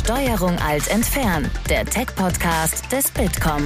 Steuerung Alt entfernen, der Tech-Podcast des Bitkom.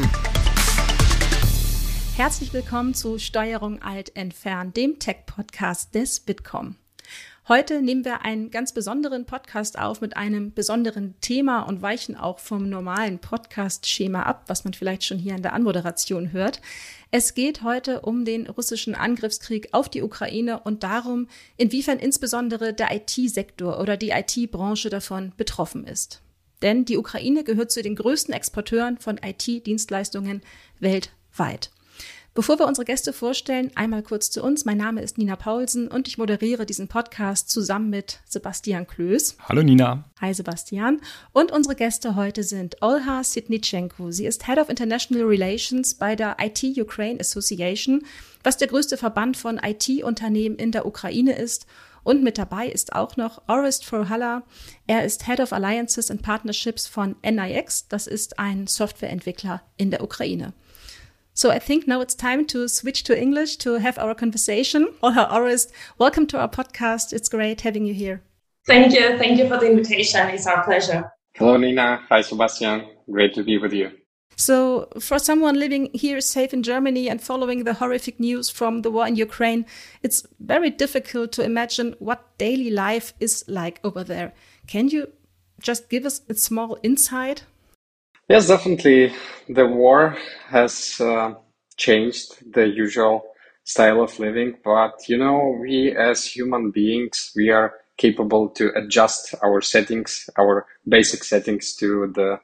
Herzlich willkommen zu Steuerung Alt entfernen, dem Tech-Podcast des Bitkom. Heute nehmen wir einen ganz besonderen Podcast auf mit einem besonderen Thema und weichen auch vom normalen Podcast-Schema ab, was man vielleicht schon hier in der Anmoderation hört. Es geht heute um den russischen Angriffskrieg auf die Ukraine und darum, inwiefern insbesondere der IT-Sektor oder die IT-Branche davon betroffen ist. Denn die Ukraine gehört zu den größten Exporteuren von IT-Dienstleistungen weltweit. Bevor wir unsere Gäste vorstellen, einmal kurz zu uns. Mein Name ist Nina Paulsen und ich moderiere diesen Podcast zusammen mit Sebastian Klöß. Hallo Nina. Hi Sebastian. Und unsere Gäste heute sind Olha Sitnichenko. Sie ist Head of International Relations bei der IT Ukraine Association, was der größte Verband von IT-Unternehmen in der Ukraine ist. Und mit dabei ist auch noch Orest Forhalla. Er ist Head of Alliances and Partnerships von NIX. Das ist ein Softwareentwickler in der Ukraine. So I think now it's time to switch to English to have our conversation. Olha, Orest, welcome to our podcast. It's great having you here. Thank you. Thank you for the invitation. It's our pleasure. Hello, Nina. Hi, Sebastian. Great to be with you. So for someone living here safe in Germany and following the horrific news from the war in Ukraine, it's very difficult to imagine what daily life is like over there. Can you just give us a small insight? Yes, definitely. The war has changed the usual style of living, but we as human beings, we are capable to adjust our settings, our basic settings to the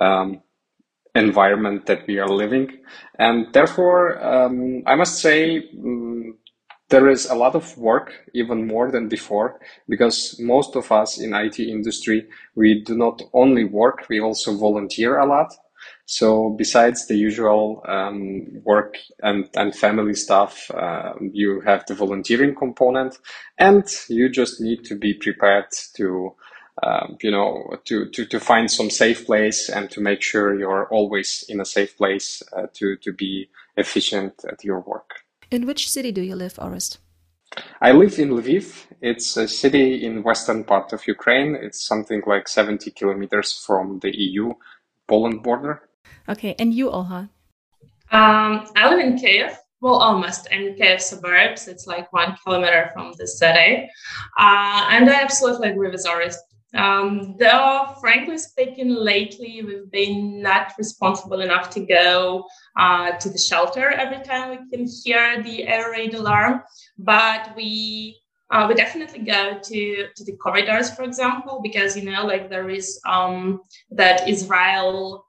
environment that we are living. And therefore, I must say, there is a lot of work, even more than before, because most of us in IT industry, we do not only work, we also volunteer a lot. So besides the usual work and family stuff, you have the volunteering component, and you just need to be prepared to to find some safe place and to make sure you're always in a safe place to be efficient at your work. In which city do you live, Orest? I live in Lviv. It's a city in western part of Ukraine. It's something like 70 kilometers from the EU-Poland border. Okay, and you, Olha? I live in Kyiv. Well, almost in Kyiv suburbs. It's like 1 kilometer from the city. And I absolutely agree with Orest. Though, frankly speaking, lately we've been not responsible enough to go to the shelter every time we can hear the air raid alarm, but we definitely go to the corridors, for example, because there is that Israel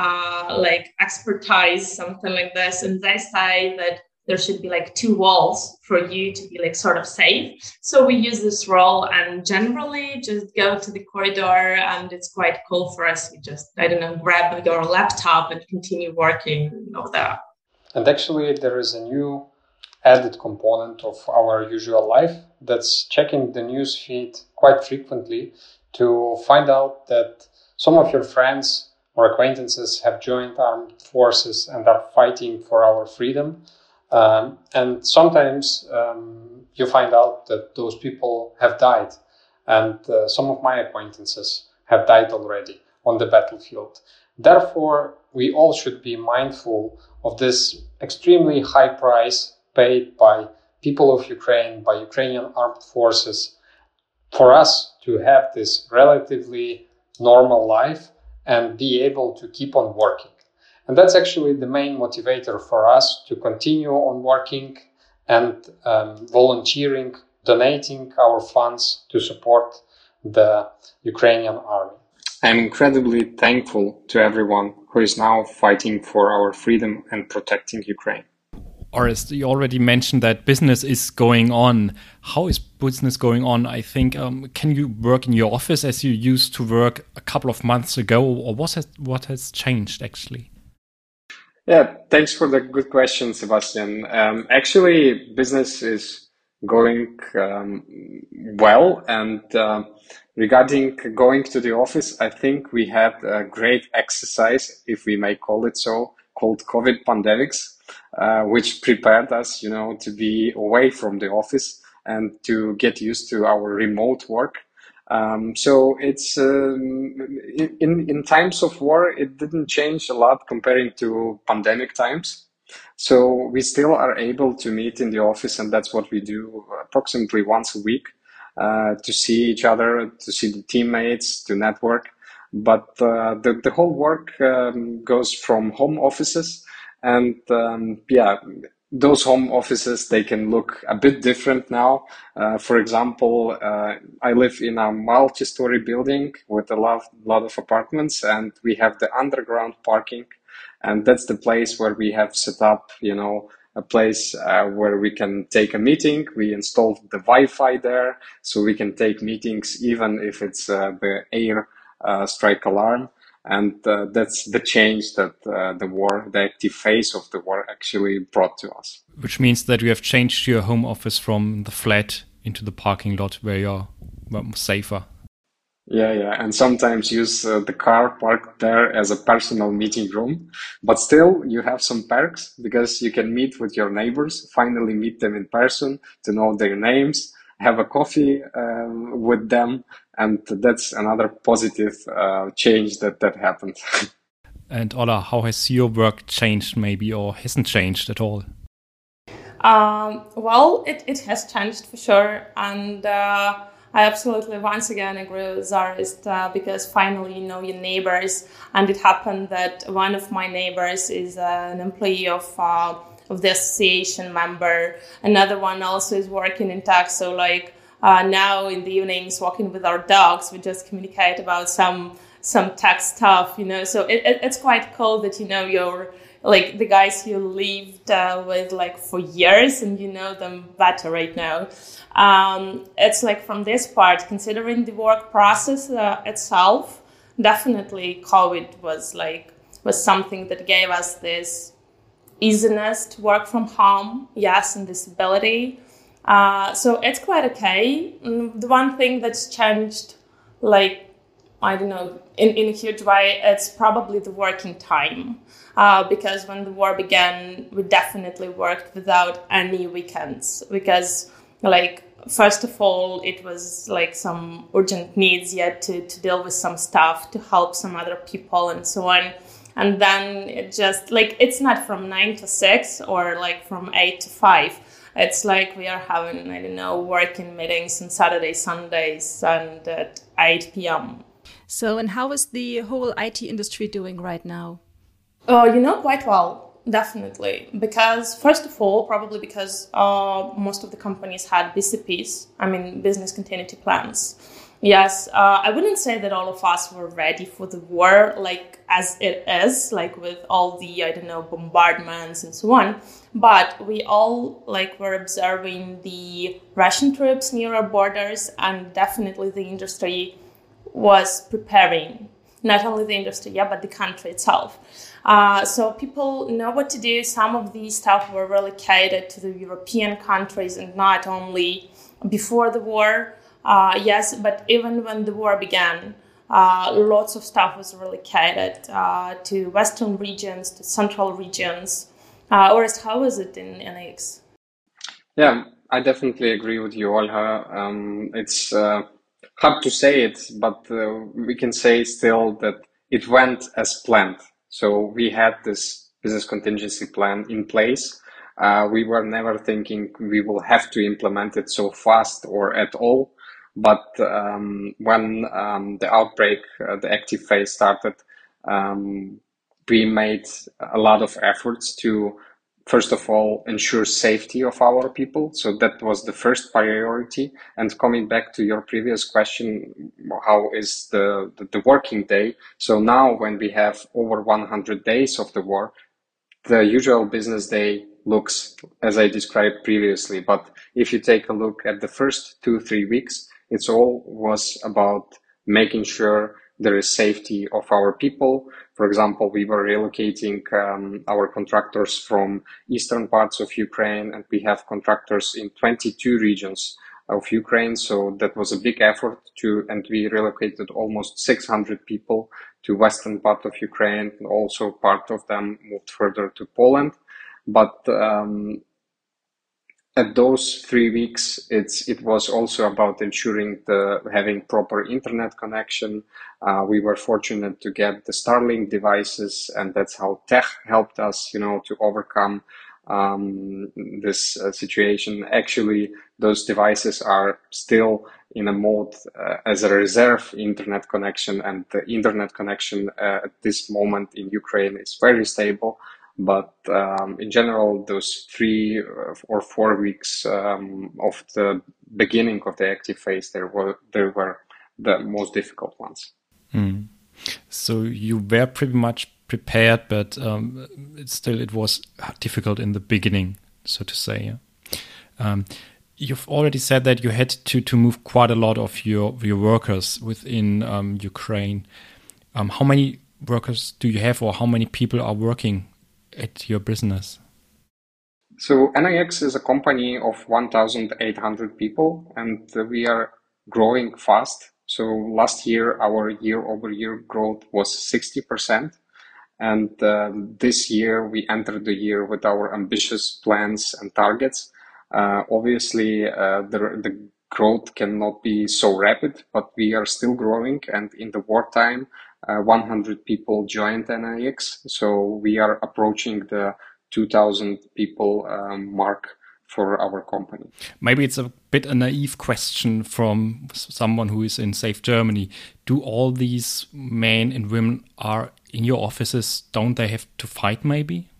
expertise, something like this, and they say that there should be 2 walls for you to be sort of safe. So we use this role and generally just go to the corridor, and it's quite cool for us. We just, grab your laptop and continue working over there. And actually there is a new added component of our usual life that's checking the news feed quite frequently to find out that some of your friends or acquaintances have joined armed forces and are fighting for our freedom. And sometimes you find out that those people have died, and some of my acquaintances have died already on the battlefield. Therefore, we all should be mindful of this extremely high price paid by people of Ukraine, by Ukrainian armed forces, for us to have this relatively normal life and be able to keep on working. And that's actually the main motivator for us to continue on working and volunteering, donating our funds to support the Ukrainian army. I'm incredibly thankful to everyone who is now fighting for our freedom and protecting Ukraine. Orest, you already mentioned that business is going on. How is business going on? I think, can you work in your office as you used to work a couple of months ago, or what has changed actually? Yeah, thanks for the good question, Sebastian. Actually, business is going well, and regarding going to the office, I think we had a great exercise, if we may call it so, called COVID pandemics, which prepared us, to be away from the office and to get used to our remote work. So it's in times of war, it didn't change a lot comparing to pandemic times. So we still are able to meet in the office, and that's what we do approximately once a week, to see each other, to see the teammates, to network. But the whole work goes from home offices, and those home offices, they can look a bit different now. For example, I live in a multi-story building with a lot of apartments, and we have the underground parking, and that's the place where we have set up, a place where we can take a meeting. We installed the Wi-Fi there, so we can take meetings even if it's the air strike alarm. And that's the change that the active phase of the war actually brought to us. Which means that you have changed your home office from the flat into the parking lot where you're safer. Yeah. And sometimes use the car parked there as a personal meeting room. But still, you have some perks because you can meet with your neighbors, finally meet them in person, to know their names, have a coffee with them. And that's another positive change that happened. And Ola, how has your work changed maybe, or hasn't changed at all? Well, it has changed for sure. And I absolutely once again agree with Zarist because finally you know your neighbors. And it happened that one of my neighbors is an employee of the association member. Another one also is working in tech. So now in the evenings, walking with our dogs, we just communicate about some tech stuff, So it's quite cool that you're the guys you lived with for years, and you know them better right now. It's from this part, considering the work process itself, definitely COVID was something that gave us this easiness to work from home, yes, and this ability. So it's quite okay. The one thing that's changed, I don't know, in a huge way, it's probably the working time. Because when the war began, we definitely worked without any weekends. Because, first of all, it was some urgent needs yet to deal with some stuff, to help some other people and so on. And then it just, it's not from 9 to 6 or from 8 to 5. It's we are having, working meetings on Saturday, Sundays, and at 8 p.m. So, and how is the whole IT industry doing right now? Quite well, definitely. Because, first of all, probably because most of the companies had BCPs, business continuity plans. Yes, I wouldn't say that all of us were ready for the war, as it is, with all the, bombardments and so on. But we all, were observing the Russian troops near our borders, and definitely the industry was preparing. Not only the industry, but the country itself. So people know what to do. Some of these stuff were relocated to the European countries, and not only before the war. Yes, but even when the war began, lots of stuff was relocated to Western regions, to Central regions. Orest, how is it in NX? Yeah, I definitely agree with you, Olha. It's hard to say it, but we can say still that it went as planned. So we had this business contingency plan in place. We were never thinking we will have to implement it so fast or at all. But when the outbreak, the active phase started, we made a lot of efforts to, first of all, ensure safety of our people. So that was the first priority. And coming back to your previous question, how is the working day? So now when we have over 100 days of the war, the usual business day looks as I described previously. But if you take a look at the first 2-3 weeks, it's all was about making sure there is safety of our people. For example, we were relocating our contractors from eastern parts of Ukraine, and we have contractors in 22 regions of Ukraine. So that was a big effort and we relocated almost 600 people to western part of Ukraine, and also part of them moved further to Poland. But at those 3 weeks, it was also about ensuring having proper internet connection. We were fortunate to get the Starlink devices, and that's how tech helped us, to overcome this situation. Actually, those devices are still in a mode as a reserve internet connection, and the internet connection at this moment in Ukraine is very stable. But in general, those 3 or 4 weeks of the beginning of the active phase, they were the most difficult ones. Mm. So you were pretty much prepared, but it was difficult in the beginning, so to say. Yeah? You've already said that you had to move quite a lot of your workers within Ukraine. How many workers do you have, or how many people are working at your business? So NIX is a company of 1,800 people, and we are growing fast. So last year, our year-over-year growth was 60%. And this year, we entered the year with our ambitious plans and targets. Obviously, the growth cannot be so rapid, but we are still growing. And in the wartime, 100 people joined NIX. So we are approaching the 2,000 people mark for our company. Maybe it's a bit a naive question from someone who is in safe Germany. Do all these men and women are in your offices? Don't they have to fight maybe?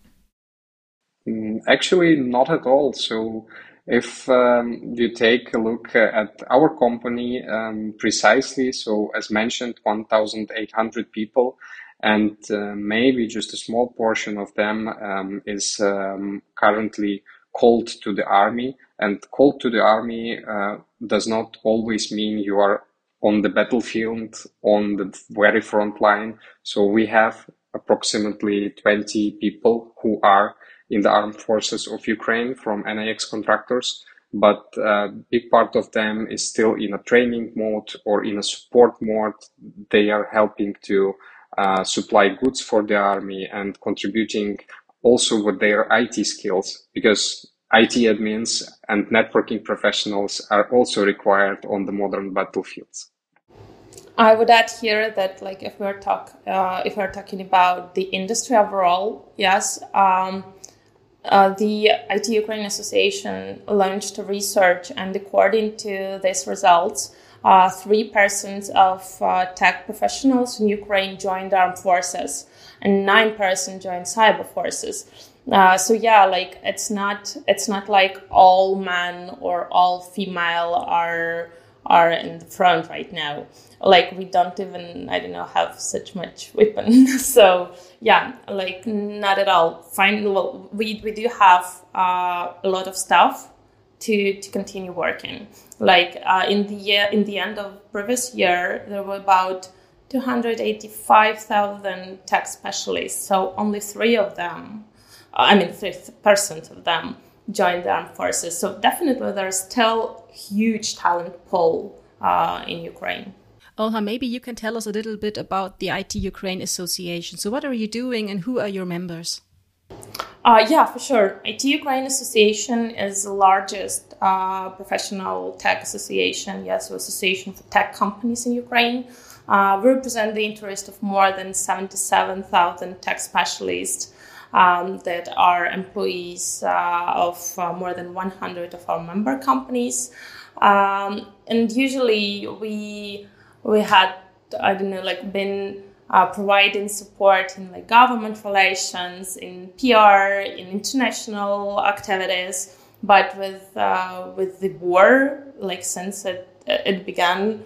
Actually, not at all. So if you take a look at our company precisely, so as mentioned, 1,800 people, and maybe just a small portion of them is currently called to the army. And called to the army does not always mean you are on the battlefield, on the very front line. So we have approximately 20 people who are in the armed forces of Ukraine from NIX contractors, but a big part of them is still in a training mode or in a support mode. They are helping to supply goods for the army and contributing also with their IT skills, because IT admins and networking professionals are also required on the modern battlefields. I would add here that, like, if we're talking about the industry overall, yes, the IT Ukraine Association launched a research, and according to these results, 3% of tech professionals in Ukraine joined armed forces, and 9% joined cyber forces. So yeah, like it's not like all men or all female are in the front right now. Like we don't even, have such much weapon. So yeah, like not at all. Fine. Well, we do have a lot of stuff to continue working. Like in the end of previous year, there were about 285,000 tech specialists. So only 3% of them joined the armed forces. So definitely there's still huge talent pool in Ukraine. Olha, maybe you can tell us a little bit about the IT Ukraine Association. So what are you doing and who are your members? Yeah, for sure. IT Ukraine Association is the largest professional tech association, association for tech companies in Ukraine. We represent the interest of more than 77,000 tech specialists that are employees of more than 100 of our member companies. And usually we had, been providing support in government relations, in PR, in international activities. But with the war, since it began,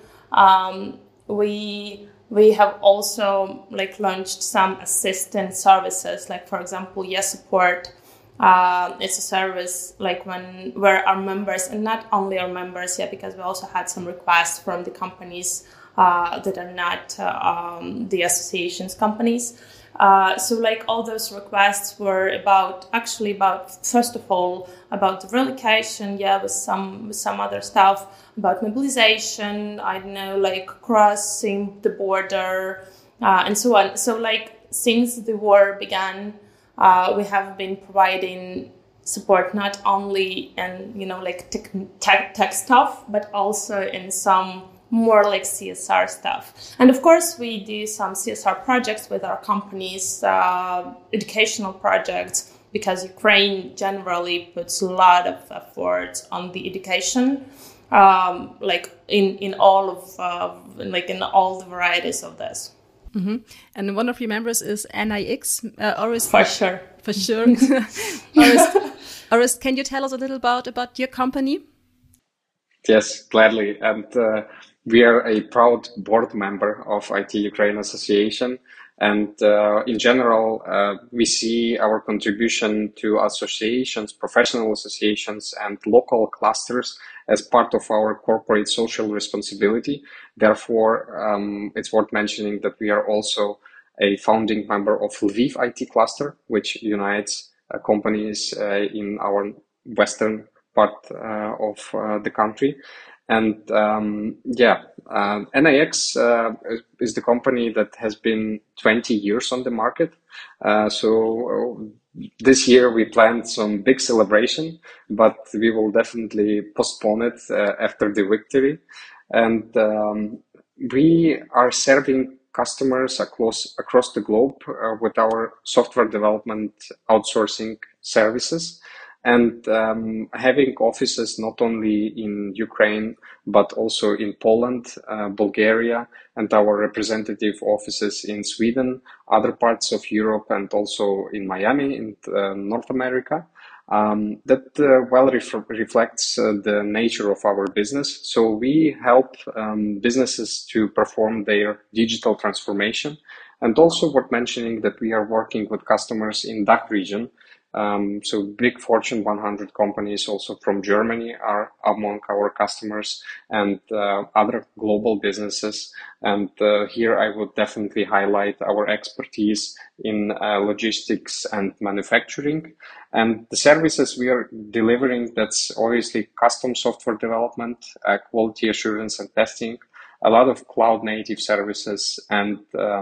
we have also launched some assistance services, for example, Support. It's a service where our members, and not only our members, because we also had some requests from the companies that are not the association's companies. So all those requests were about first of all, about the relocation, with some other stuff, about mobilization, crossing the border, and so on. So since the war began, we have been providing support not only in, like tech stuff, but also in some more like CSR stuff. And of course, we do some CSR projects with our companies, educational projects, because Ukraine generally puts a lot of effort on the education, like in all of in all the varieties of this. Mm-hmm. And one of your members is NIX. Orest, For sure. Orest, can you tell us a little about your company? Yes, gladly. And we are a proud board member of IT Ukraine Association. And in general, we see our contribution to associations, professional associations, and local clusters as part of our corporate social responsibility. Therefore, it's worth mentioning that we are also a founding member of Lviv IT Cluster, which unites companies in our western part of the country. And NIX is the company that has been 20 years on the market. So this year we planned some big celebration, but we will definitely postpone it after the victory. And we are serving customers across the globe with our software development outsourcing services. And having offices not only in Ukraine, but also in Poland, Bulgaria, and our representative offices in Sweden, other parts of Europe, and also in Miami, in North America. That reflects the nature of our business. So we help businesses to perform their digital transformation. And also worth mentioning that we are working with customers in DACH region. So big Fortune 100 companies also from Germany are among our customers, and other global businesses. And here I would definitely highlight our expertise in logistics and manufacturing. And the services we are delivering, that's obviously custom software development, quality assurance and testing, a lot of cloud native services, and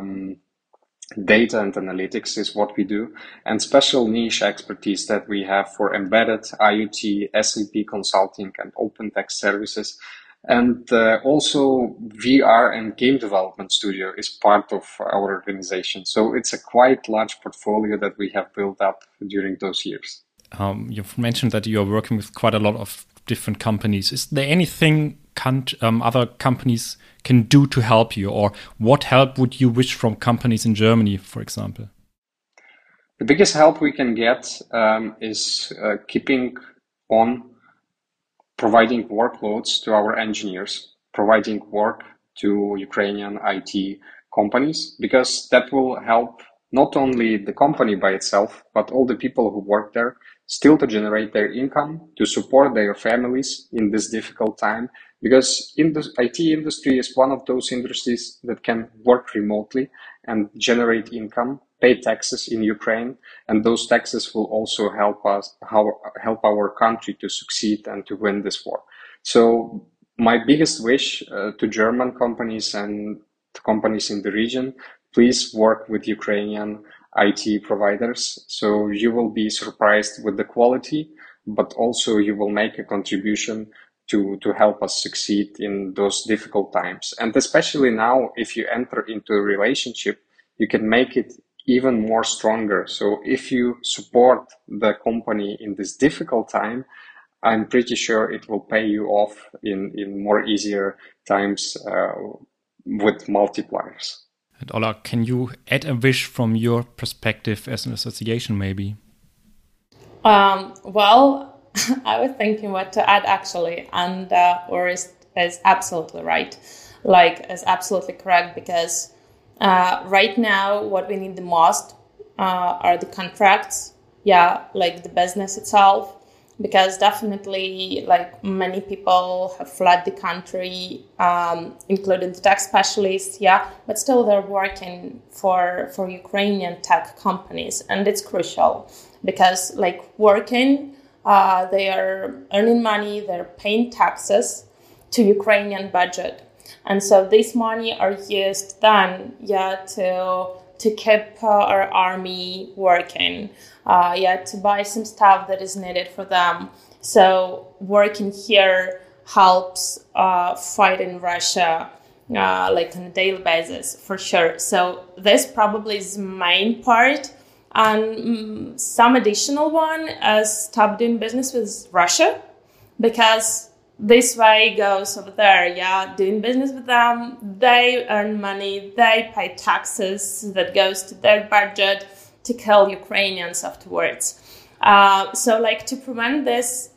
data and analytics is what we do, and special niche expertise that we have for embedded IoT, SAP consulting, and open text services. And also VR and game development studio is part of our organization. So it's a quite large portfolio that we have built up during those years. You've mentioned that you're working with quite a lot of different companies. Is there anything other companies can do to help you, or what help would you wish from companies in Germany, for example? The biggest help we can get is keeping on providing workloads to our engineers, providing work to Ukrainian IT companies, because that will help not only the company by itself, but all the people who work there still to generate their income, to support their families in this difficult time. Because the IT industry is one of those industries that can work remotely and generate income, pay taxes in Ukraine, and those taxes will also help our country to succeed and to win this war. So my biggest wish to German companies and to companies in the region, please work with Ukrainian IT providers. So you will be surprised with the quality, but also you will make a contribution to help us succeed in those difficult times. And especially now, if you enter into a relationship, you can make it even more stronger. So if you support the company in this difficult time, I'm pretty sure it will pay you off in more easier times with multipliers. And Ola, can you add a wish from your perspective as an association, maybe? Well, I was thinking what to add actually, and Orest is absolutely right. Is absolutely correct, because right now what we need the most are the contracts, the business itself, because definitely many people have fled the country, including the tech specialists, but still they're working for Ukrainian tech companies, and it's crucial because working, they are earning money, they're paying taxes to Ukrainian budget. And so this money are used then, to keep our army working, to buy some stuff that is needed for them. So working here helps fight in Russia like on a daily basis, for sure. So this probably is the main part. And some additional one is stop doing business with Russia, because this way goes over there, doing business with them, they earn money, they pay taxes that goes to their budget to kill Ukrainians afterwards. So like to prevent this,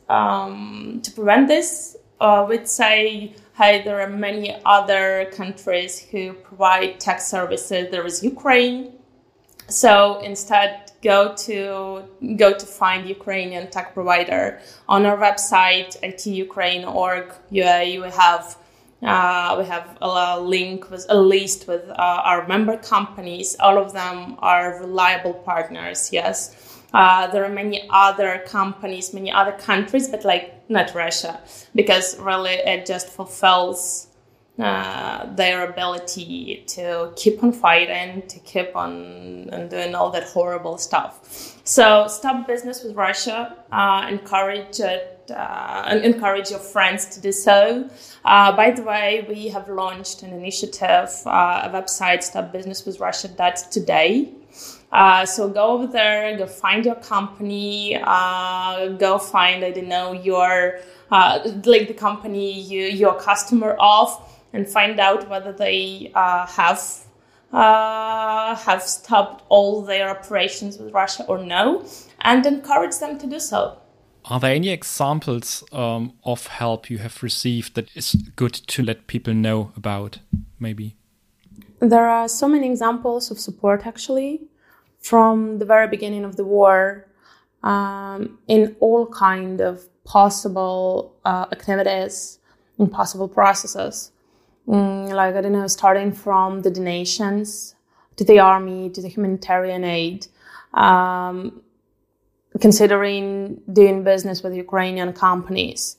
we'd say, hey, there are many other countries who provide tech services. There is Ukraine. So instead, go to find Ukrainian tech provider. On our website, itukraine.org, we have a link with a list with our member companies. All of them are reliable partners. Yes, there are many other companies, many other countries, but like not Russia, because really it just fulfills their ability to keep on fighting, to keep on and doing all that horrible stuff. So stop business with Russia. Encourage it, and encourage your friends to do so. By the way, we have launched an initiative, a website, stopbusinesswithrussia.today. So go over there, go find your company, go find, your like the company you're a customer of, and find out whether they have stopped all their operations with Russia or no, and encourage them to do so. Are there any examples of help you have received that is good to let people know about, maybe? There are so many examples of support, actually, from the very beginning of the war, in all kind of possible activities and possible processes. Starting from the donations to the army, to the humanitarian aid, considering doing business with Ukrainian companies,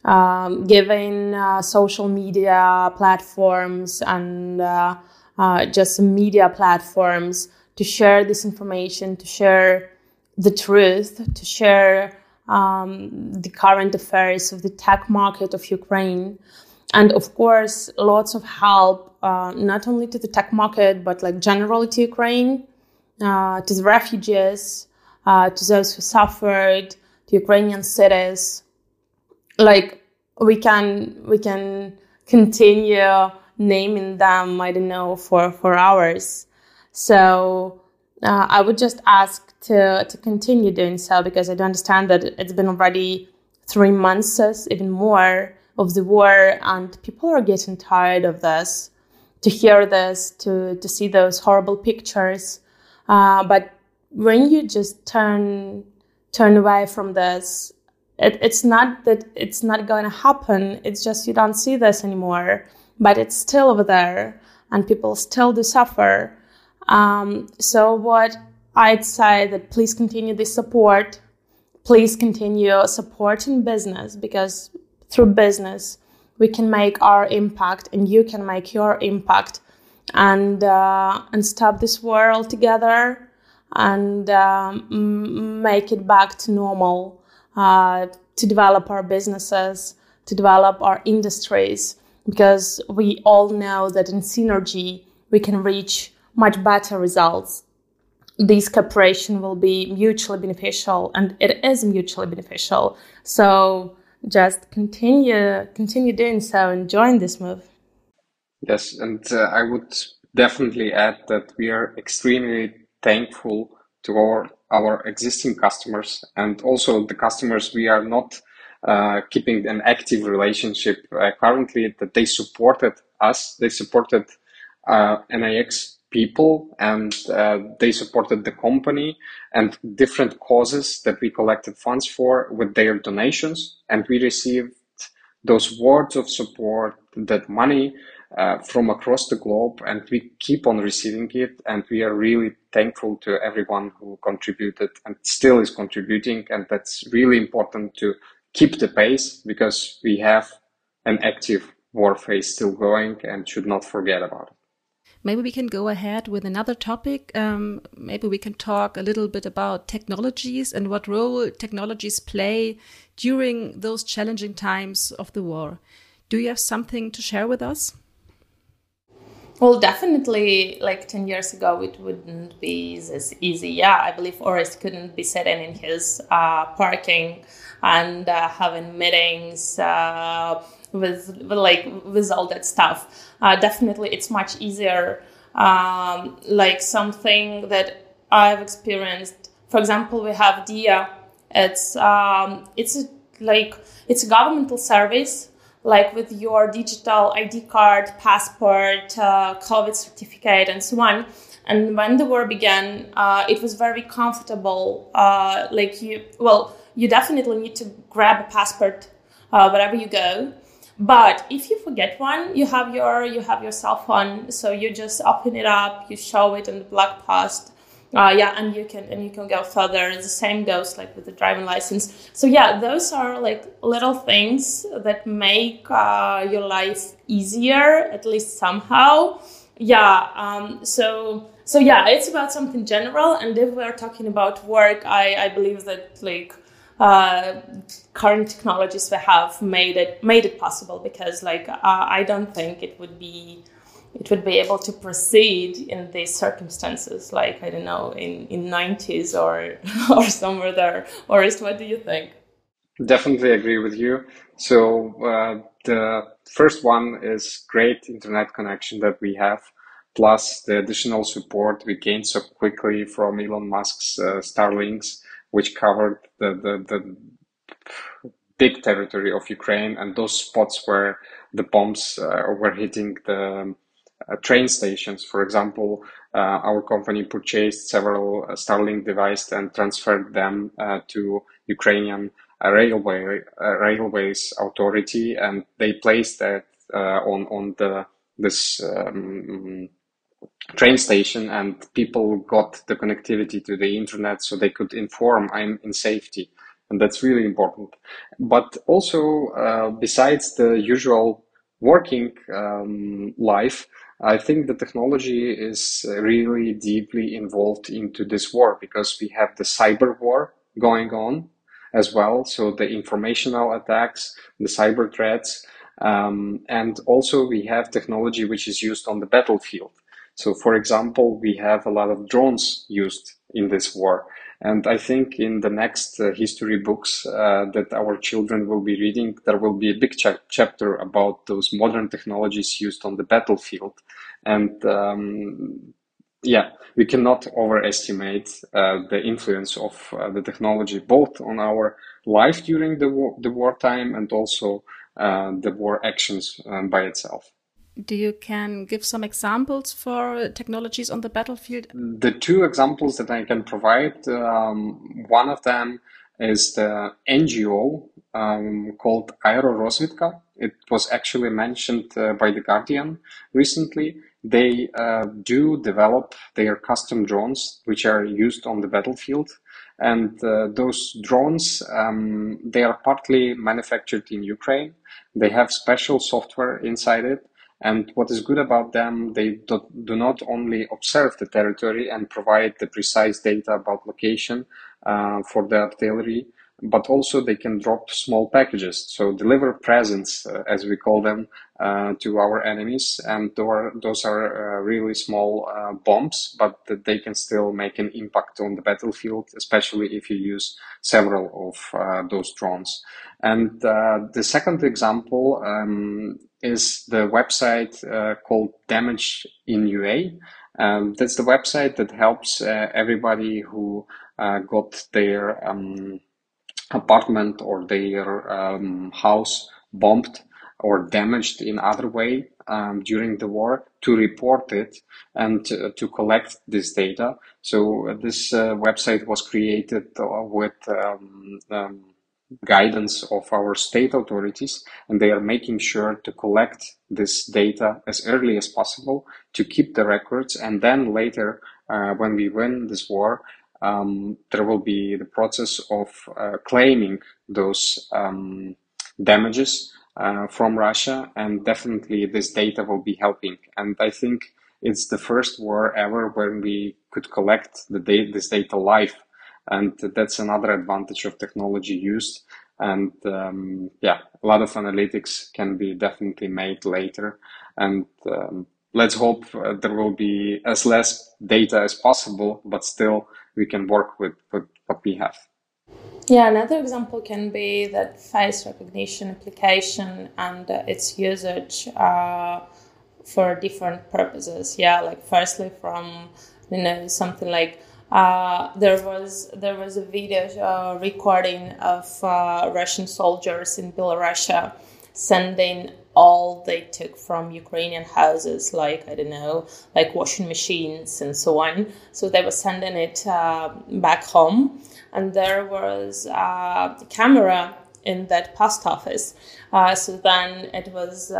giving social media platforms and just media platforms to share this information, to share the truth, to share the current affairs of the tech market of Ukraine. And of course, lots of help, not only to the tech market, but like generally to Ukraine, to the refugees, to those who suffered, to Ukrainian cities. Like we can continue naming them, for hours. So I would just ask to continue doing so, because I do understand that it's been already 3 months, even more, of the war, and people are getting tired of this, to hear this, to see those horrible pictures. But when you just turn away from this, it's not that it's not going to happen. It's just you don't see this anymore, but it's still over there, and people still do suffer. So what I'd say that please continue this support. Please continue supporting business, because through business, we can make our impact, and you can make your impact, and stop this war altogether, and make it back to normal, to develop our businesses, to develop our industries, because we all know that in synergy, we can reach much better results. This cooperation will be mutually beneficial, and it is mutually beneficial. So just continue doing so and join this move. Yes, and I would definitely add that we are extremely thankful to our existing customers, and also the customers we are not keeping an active relationship currently, that they supported us, they supported NIX people, and they supported the company and different causes that we collected funds for with their donations, and we received those words of support, that money from across the globe, and we keep on receiving it, and we are really thankful to everyone who contributed and still is contributing, and that's really important to keep the pace, because we have an active war phase still going and should not forget about it. Maybe we can go ahead with another topic. Maybe we can talk a little bit about technologies and what role technologies play during those challenging times of the war. Do you have something to share with us? Well, definitely, like 10 years ago, it wouldn't be this easy. Yeah, I believe Orest couldn't be sitting in his parking and having meetings with all that stuff. Definitely, it's much easier. Like something that I've experienced. For example, we have DIA. It's a governmental service. Like with your digital ID card, passport, COVID certificate, and so on. And when the war began, it was very comfortable. You definitely need to grab a passport wherever you go. But if you forget one, you have your cell phone, so you just open it up, you show it in the blog post. And you can go further. The same goes like with the driving license. So yeah, those are like little things that make your life easier, at least somehow. So it's about something general. And if we're talking about work, I believe that like current technologies we have made it possible, because like I don't think it would be able to proceed in these circumstances, like, I don't know, in 90s or somewhere there. Or what do you think? Definitely agree with you. So the first one is great internet connection that we have, plus the additional support we gained so quickly from Elon Musk's Starlinks, which covered the big territory of Ukraine and those spots where the bombs were hitting the train stations. For example, our company purchased several Starlink devices and transferred them to Ukrainian railways authority, and they placed that on this train station, and people got the connectivity to the internet, so they could inform I'm in safety, and that's really important. But also, besides the usual working life, I think the technology is really deeply involved into this war, because we have the cyber war going on as well. So the informational attacks, the cyber threats, and also we have technology which is used on the battlefield. So for example, we have a lot of drones used in this war. And I think in the next history books that our children will be reading, there will be a big chapter about those modern technologies used on the battlefield. And we cannot overestimate the influence of the technology, both on our life during the wartime and also the war actions by itself. Do you can give some examples for technologies on the battlefield? The two examples that I can provide, one of them is the NGO called Aerorozvidka. It was actually mentioned by The Guardian recently. They do develop their custom drones, which are used on the battlefield. And those drones, they are partly manufactured in Ukraine. They have special software inside it. And what is good about them, they do not only observe the territory and provide the precise data about location for the artillery, but also they can drop small packages, so deliver presents, as we call them, to our enemies. And those are really small bombs, but they can still make an impact on the battlefield, especially if you use several of those drones. And the second example is the website called Damage in UA. That's the website that helps everybody who got their apartment or their house bombed or damaged in other way during the war, to report it and to collect this data. So this website was created with guidance of our state authorities, and they are making sure to collect this data as early as possible to keep the records, and then later when we win this war, there will be the process of claiming those damages from Russia, and definitely this data will be helping. And I think it's the first war ever when we could collect this data live. And that's another advantage of technology used. And a lot of analytics can be definitely made later. And let's hope there will be as less data as possible, but still we can work with what we have. Yeah, another example can be that face recognition application and its usage for different purposes. Yeah, like firstly from, something like there was a video recording of Russian soldiers in Belarus sending all they took from Ukrainian houses, like washing machines and so on. So they were sending it back home, and there was a camera in that post office. So then it was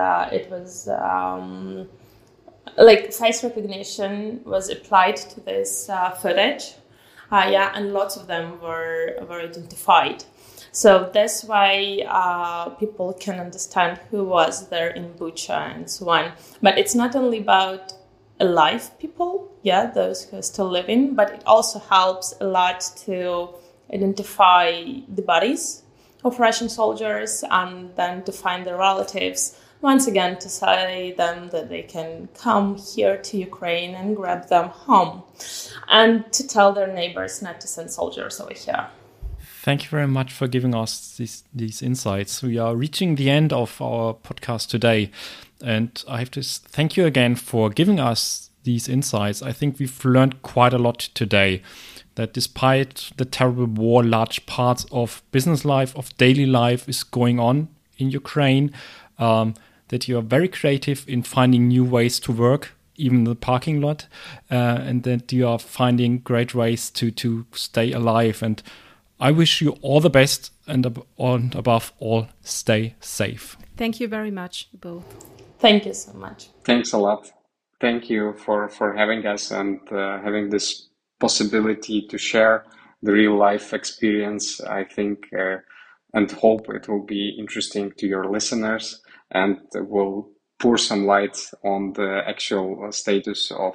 face recognition was applied to this footage. And lots of them were identified. So that's why people can understand who was there in Bucha and so on. But it's not only about alive people, those who are still living, but it also helps a lot to identify the bodies of Russian soldiers and then to find their relatives. Once again, to say them that they can come here to Ukraine and grab them home, and to tell their neighbors not to send soldiers over here. Thank you very much for giving us these insights. We are reaching the end of our podcast today, and I have to thank you again for giving us these insights. I think we've learned quite a lot today, that despite the terrible war, large parts of business life, of daily life is going on in Ukraine. That you are very creative in finding new ways to work, even in the parking lot, and that you are finding great ways to stay alive. And I wish you all the best, and above all, stay safe. Thank you very much, both. Thank you so much. Thanks a lot. Thank you for having us and having this possibility to share the real life experience, I think, and hope it will be interesting to your listeners and will pour some light on the actual status of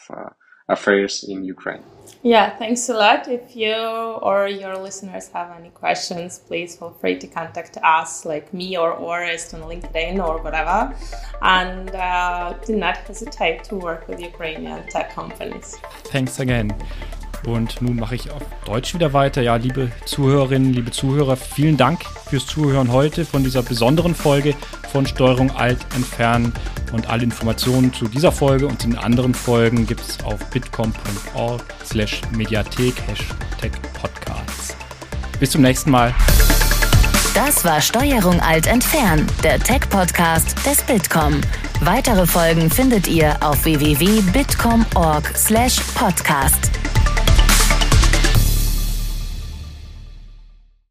affairs in Ukraine. Yeah, thanks a lot. If you or your listeners have any questions, please feel free to contact us, like me or Orest on LinkedIn or whatever. And do not hesitate to work with Ukrainian tech companies. Thanks again. Und nun mache ich auf Deutsch wieder weiter. Ja, liebe Zuhörerinnen, liebe Zuhörer, vielen Dank fürs Zuhören heute von dieser besonderen Folge von Steuerung Alt entfernen. Und alle Informationen zu dieser Folge und den anderen Folgen gibt es auf bitkom.org/mediathek #Podcasts. Bis zum nächsten Mal. Das war Steuerung Alt entfernen, der Tech-Podcast des Bitkom. Weitere Folgen findet ihr auf www.bitkom.org/podcast.